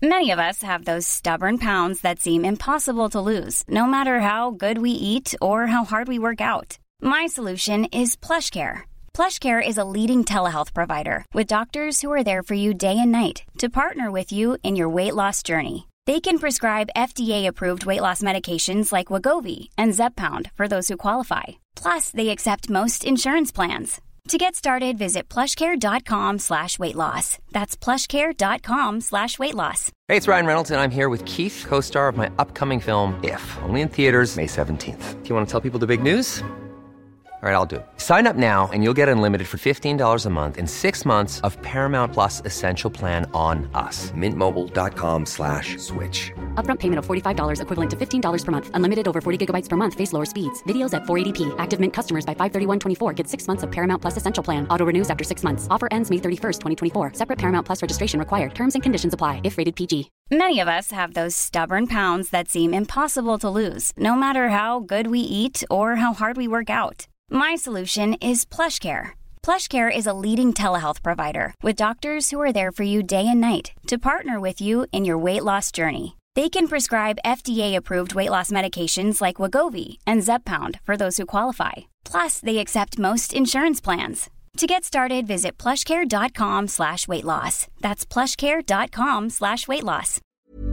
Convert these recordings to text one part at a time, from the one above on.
Many of us have those stubborn pounds that seem impossible to lose, no matter how good we eat or how hard we work out. My solution is PlushCare. PlushCare is a leading telehealth provider with doctors who are there for you day and night to partner with you in your weight loss journey. They can prescribe FDA-approved weight loss medications like Wegovy and Zepbound for those who qualify. Plus, they accept most insurance plans. To get started, visit plushcare.com/weightloss. That's plushcare.com/weightloss. Hey, it's Ryan Reynolds, and I'm here with Keith, co-star of my upcoming film, If, only in theaters May 17th. Do you want to tell people the big news? All right, I'll do it. Sign up now and you'll get unlimited for $15 a month and 6 months of Paramount Plus Essential Plan on us. MintMobile.com/switch. Upfront payment of $45 equivalent to $15 per month. Unlimited over 40 gigabytes per month. Face lower speeds. Videos at 480p. Active Mint customers by 531.24 get 6 months of Paramount Plus Essential Plan. Auto renews after 6 months. Offer ends May 31st, 2024. Separate Paramount Plus registration required. Terms and conditions apply if rated PG. Many of us have those stubborn pounds that seem impossible to lose, no matter how good we eat or how hard we work out. My solution is PlushCare. PlushCare is a leading telehealth provider with doctors who are there for you day and night to partner with you in your weight loss journey. They can prescribe FDA-approved weight loss medications like Wegovy and Zepbound for those who qualify. Plus, they accept most insurance plans. To get started, visit plushcare.com/weightloss. That's plushcare.com/weightloss.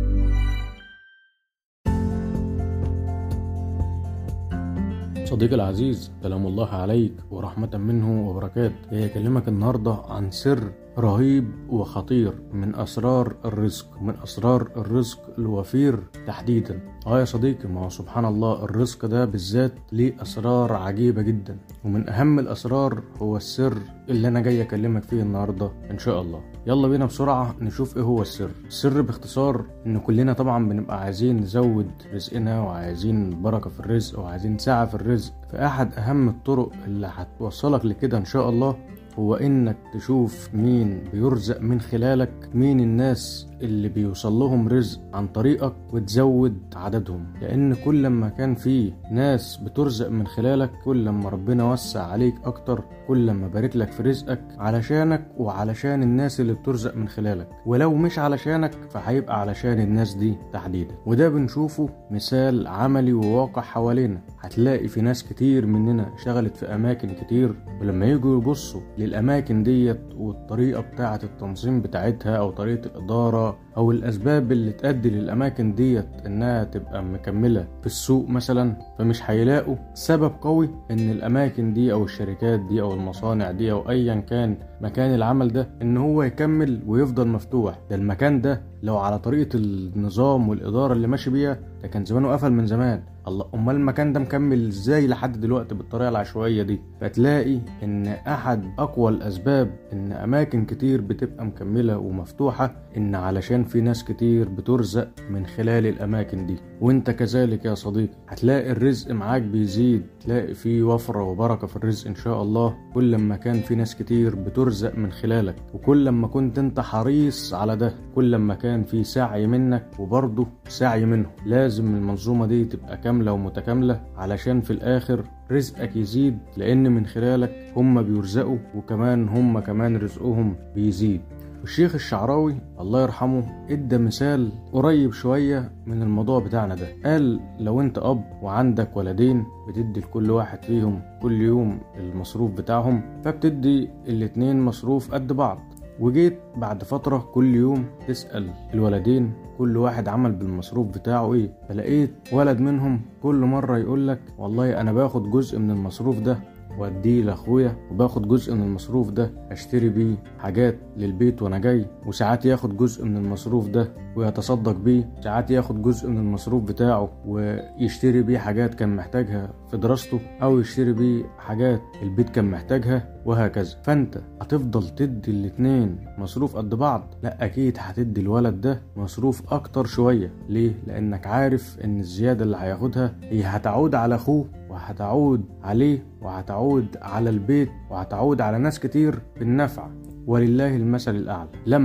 صديقي العزيز، سلام الله عليك ورحمة منه وبركاته. أكلمك النهاردة عن سر رهيب وخطير من أسرار الرزق، من أسرار الرزق الوفير تحديدا. يا صديقي، ما هو سبحان الله الرزق ده بالذات ليه أسرار عجيبة جدا، ومن أهم الأسرار هو السر اللي أنا جاي أكلمك فيه النهاردة إن شاء الله. يلا بينا بسرعة نشوف إيه هو السر. السر باختصار إن كلنا طبعا بنبقى عايزين نزود رزقنا وعايزين بركة في الرزق وعايزين سعة في الرزق. فأحد أهم الطرق اللي هتوصلك لكده إن شاء الله هو إنك تشوف مين بيرزق من خلالك، مين الناس اللي بيوصل لهم رزق عن طريقك وتزود عددهم. لأن كل ما كان فيه ناس بترزق من خلالك، كل ما ربنا وسع عليك أكتر، كل ما بارك لك في رزقك علشانك وعلشان الناس اللي بترزق من خلالك، ولو مش علشانك فهيبقى علشان الناس دي تحديدا. وده بنشوفه مثال عملي وواقع حوالينا. هتلاقي في ناس كتير مننا شغلت في أماكن كتير، ولما يجوا يبصوا للأماكن ديت والطريقة بتاعة التنظيم بتاعتها أو طريقة الإدارة أو الأسباب اللي تؤدي للأماكن ديت إنها تبقى مكملة في السوق مثلا، فمش هيلاقوا سبب قوي إن الأماكن دي أو الشركات دي أو المصانع دي أو أيا كان مكان العمل ده إن هو يكمل ويفضل مفتوح. ده المكان ده لو على طريقة النظام والإدارة اللي ماشي بيها ده كان زمانه قفل من زمان. الله، أمال المكان ده مكمل إزاي لحد دلوقتي بالطريقة العشوائية دي؟ فتلاقي إن أحد أقوى الأسباب إن أماكن كتير بتبقى مكملة ومفتوحة إن علشان في ناس كتير بترزق من خلال الأماكن دي. وإنت كذلك يا صديقي هتلاقي الرزق معاك بيزيد، تلاقي فيه وفرة وبركة في الرزق إن شاء الله كل ما كان في ناس كتير بترزق من خلالك، وكل ما كنت أنت حريص على ده، كل ما كان في سعي منك وبرضه سعي منه. لازم المنظومة دي تبقى كاملة ومتكاملة علشان في الآخر رزقك يزيد، لأن من خلالك هم بيرزقوا وكمان هم كمان رزقهم بيزيد. الشيخ الشعراوي الله يرحمه ادى مثال قريب شوية من الموضوع بتاعنا ده. قال لو انت اب وعندك ولدين بتدي لكل واحد فيهم كل يوم المصروف بتاعهم، فبتدي الاتنين مصروف قد بعض، وجيت بعد فترة كل يوم تسأل الولدين كل واحد عمل بالمصروف بتاعه ايه، فلقيت ولد منهم كل مرة يقولك والله انا باخد جزء من المصروف ده واديه لاخويا، وباخد جزء من المصروف ده اشتري بيه حاجات للبيت وانا جاي، وساعات ياخد جزء من المصروف ده ويتصدق بيه، ساعات ياخد جزء من المصروف بتاعه ويشتري بيه حاجات كان محتاجها في دراسته، او يشتري بيه حاجات البيت كان محتاجها، وهكذا. فانت هتفضل تدي الاتنين مصروف قد بعض؟ لا، اكيد هتدي الولد ده مصروف اكتر شوية. ليه؟ لانك عارف ان الزيادة اللي هياخدها هي هتعود على اخوه وهتعود عليه وهتعود على البيت وهتعود على ناس كتير بالنفع. ولله المثل الأعلى. لما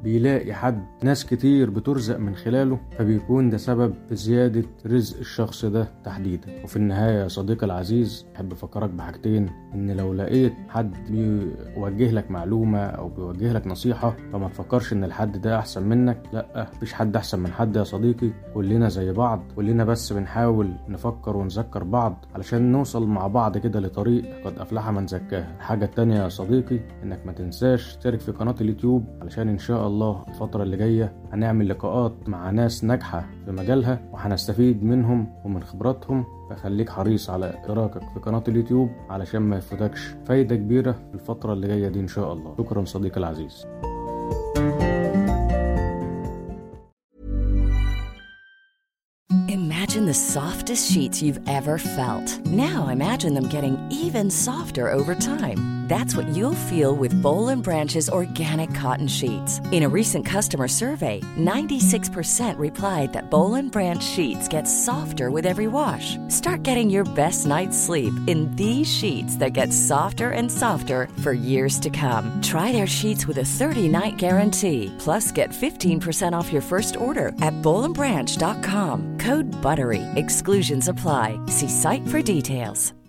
بيلاقي حد ناس كتير بترزق من خلاله، فبيكون ده سبب في زيادة رزق الشخص ده تحديدا. وفي النهاية يا صديقي العزيز، أحب أفكرك بحاجتين: إن لو لقيت حد بيوجه لك معلومة أو بيوجه لك نصيحة، فما تفكرش إن الحد ده أحسن منك. لأ، مفيش حد أحسن من حد يا صديقي، كلنا زي بعض، كلنا بس بنحاول نفكر ونذكر بعض علشان نوصل مع بعض كده لطريق قد أفلح من زكاها. الحاجة التانية يا صديقي، إنك ما تنساش تشترك في قناة اليوتيوب، علشان إن شاء الله الفترة اللي جاية هنعمل لقاءات مع ناس ناجحة في مجالها وهنستفيد منهم ومن خبراتهم. فخليك حريص على اشتراكك في قناة اليوتيوب علشان ما يفوتكش فايدة كبيرة في الفترة اللي جاية دي إن شاء الله. شكرا صديقي العزيز. Imagine the softest sheets you've ever felt. Now imagine them getting even softer over time. That's what you'll feel with Boll & Branch's organic cotton sheets. In a recent customer survey, 96% replied that Boll & Branch sheets get softer with every wash. Start getting your best night's sleep in these sheets that get softer and softer for years to come. Try their sheets with a 30-night guarantee. Plus, get 15% off your first order at bollandbranch.com. Code BUTTERY. Exclusions apply. See site for details.